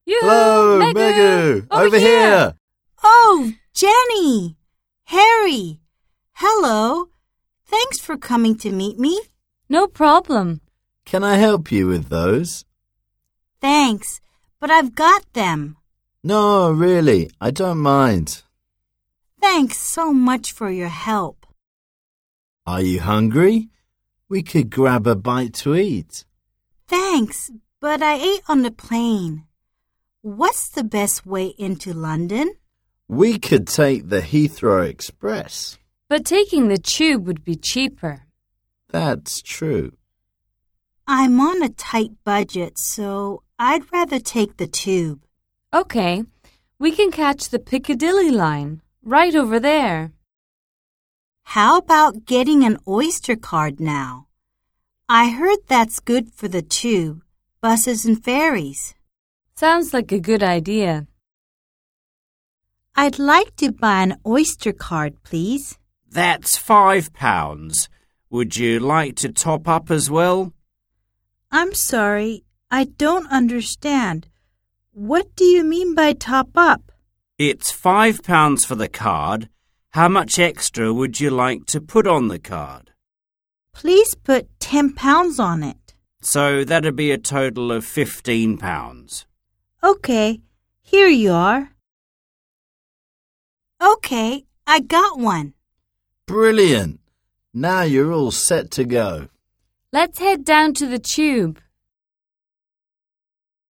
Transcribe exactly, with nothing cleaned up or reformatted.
Yoo-hoo, Hello, Megu! Megu! Over, Over here! here! Oh, Jenny! Harry! Hello! Thanks for coming to meet me. No problem. Can I help you with those? Thanks, but I've got them. No, really, I don't mind. Thanks so much for your help. Are you hungry? We could grab a bite to eat. Thanks, but I ate on the plane. What's the best way into London? We could take the Heathrow Express. But taking the tube would be cheaper. That's true. I'm on a tight budget, so I'd rather take the tube. Okay, we can catch the Piccadilly line, right over there. How about getting an Oyster card now? I heard that's good for the tube, buses and ferries. Sounds like a good idea. I'd like to buy an Oyster card, please. That's five pounds. Would you like to top up as well? I'm sorry, I don't understand. What do you mean by top up? It's five pounds for the card. How much extra would you like to put on the card? Please put ten pounds on it. So that'd be a total of fifteen pounds. Okay, here you are. Okay, I got one. Brilliant! Now you're all set to go. Let's head down to the tube.